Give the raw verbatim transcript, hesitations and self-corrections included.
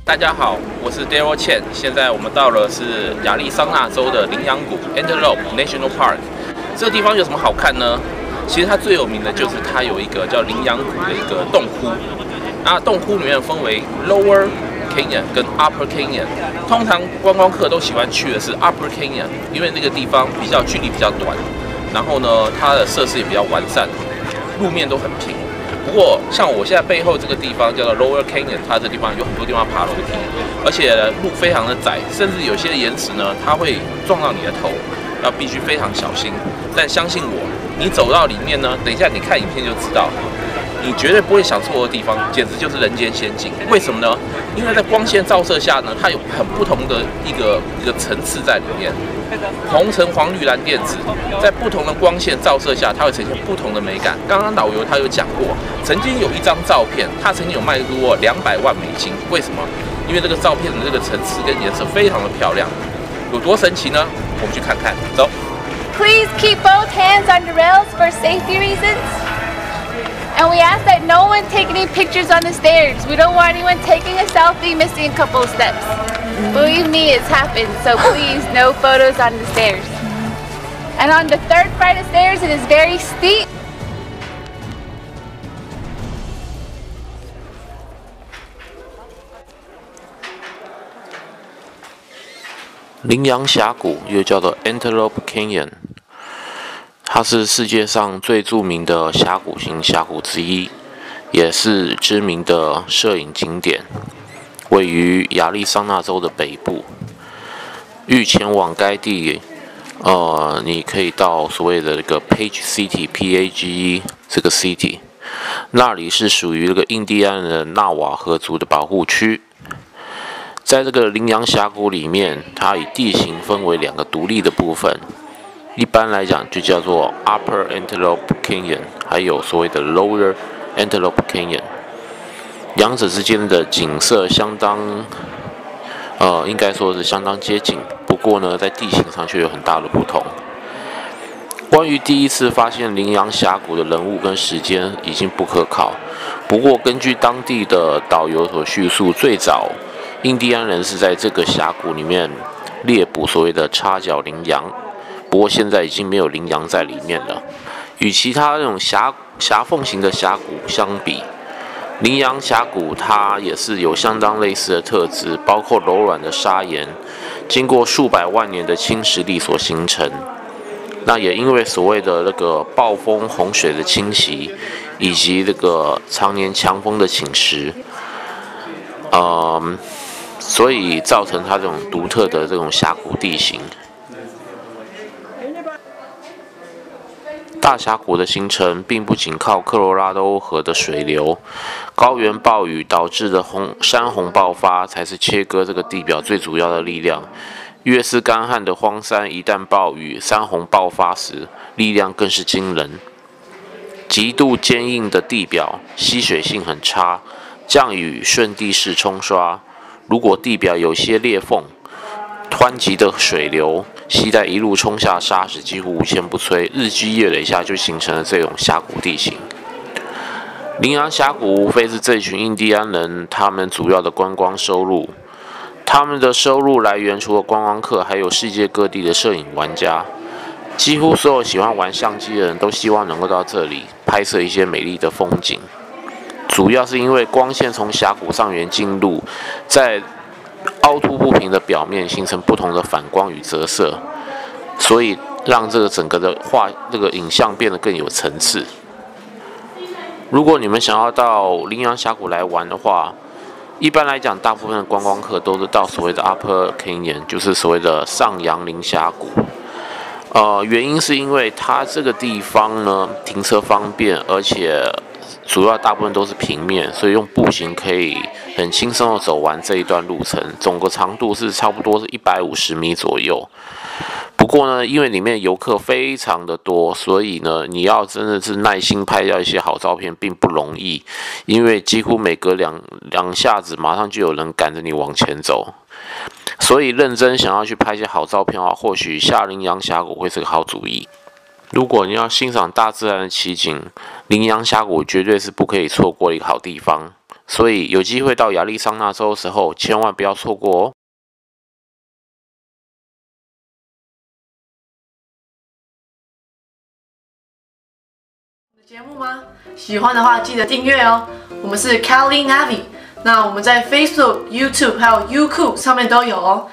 大家好，我是 Daryl Chen。现在我们到了是亚利桑那州的羚羊谷 Antelope National Park。这个地方有什么好看呢？其实它最有名的就是它有一个叫羚羊谷的一个洞窟。那洞窟里面分为 Lower Canyon 跟 Upper Canyon。通常观光客都喜欢去的是 Upper Canyon， 因为那个地方比较距离比较短，然后呢，它的设施也比较完善，路面都很平。不过，像我现在背后这个地方叫做 Lower Canyon， 它这地方有很多地方爬楼梯，而且路非常的窄，甚至有些岩石呢，它会撞到你的头，要必须非常小心。但相信我，你走到里面呢，等一下你看影片就知道，你绝对不会想错的地方，简直就是人间仙境。为什么呢？因为在光线照射下呢，它有很不同的一个一个层次在里面。红橙黄绿蓝靛紫，在不同的光线照射下，它会呈现不同的美感。刚刚导游他有讲过，曾经有一张照片，他曾经有卖过两百万美金。为什么？因为这个照片的这个层次跟颜色非常的漂亮，有多神奇呢？我们去看看，走。 Please keep both hands on the rails for safety reasons. And we ask that no one take any pictures on the stairs. We don't want anyone taking a selfie, missing a couple of steps. Believe me, it's happened, so please, no photos on the stairs. And on the third flight of stairs, it is very steep. 羚羊峡谷又叫做 Antelope Canyon， 它是世界上最著名的峡谷型峡谷之一，也是知名的摄影景点。位于亚利桑那州的北部。欲前往该地，呃，你可以到所谓的这个 Page City（P A G E） 这个 city， 那里是属于这个印第安人纳瓦河族的保护区。在这个羚羊峡谷里面，它以地形分为两个独立的部分，一般来讲就叫做 Upper Antelope Canyon， 还有所谓的 Lower Antelope Canyon。两者之间的景色相当，呃，应该说是相当接近。不过呢，在地形上却有很大的不同。关于第一次发现羚羊峡谷的人物跟时间已经不可考。不过，根据当地的导游所叙述，最早印第安人是在这个峡谷里面猎捕所谓的叉角羚羊。不过现在已经没有羚羊在里面了。与其他那种峡峡缝型的峡谷相比，羚羊峡谷它也是有相当类似的特质，包括柔软的砂岩，经过数百万年的侵蚀力所形成。那也因为所谓的那个暴风洪水的侵袭，以及这个常年强风的侵蚀，嗯，所以造成它这种独特的这种峡谷地形。大峡谷的形成并不仅靠科罗拉多河的水流，高原暴雨导致的红山洪爆发才是切割这个地表最主要的力量。越是干旱的荒山，一旦暴雨、山洪爆发时，力量更是惊人。极度坚硬的地表，吸水性很差，降雨顺地势冲刷。如果地表有些裂缝，湍急的水流携带一路冲下沙石，几乎无坚不摧，日积月累下就形成了这种峡谷地形。羚羊峡谷无非是这群印第安人他们主要的观光收入，他们的收入来源除了观光客，还有世界各地的摄影玩家。几乎所有喜欢玩相机的人都希望能够到这里拍摄一些美丽的风景，主要是因为光线从峡谷上缘进入，在凹凸不平的表面形成不同的反光与折射，所以让这个整个的画这个影像变得更有层次。如果你们想要到羚羊峡谷来玩的话，一般来讲，大部分的观光客都是到所谓的 Upper Canyon， 就是所谓的上杨羚峡谷。呃，原因是因为它这个地方呢停车方便，而且主要大部分都是平面，所以用步行可以很轻松的走完这一段路程，总个长度是差不多是一百五十米左右。不过呢，因为里面游客非常的多，所以呢，你要真的是耐心拍到一些好照片并不容易，因为几乎每隔两两下子，马上就有人赶着你往前走。所以认真想要去拍一些好照片的话，或许下羚羊峡谷会是个好主意。如果你要欣赏大自然的奇景，羚羊峡谷绝对是不可以错过的一个好地方。 所以有机会到亚利桑那州的时候，千万不要错过哦。 节目吗？喜欢的话记得订阅哦。我们是 Cali Navi，那我们在 Facebook、YouTube 还有 Youku 上面都有哦。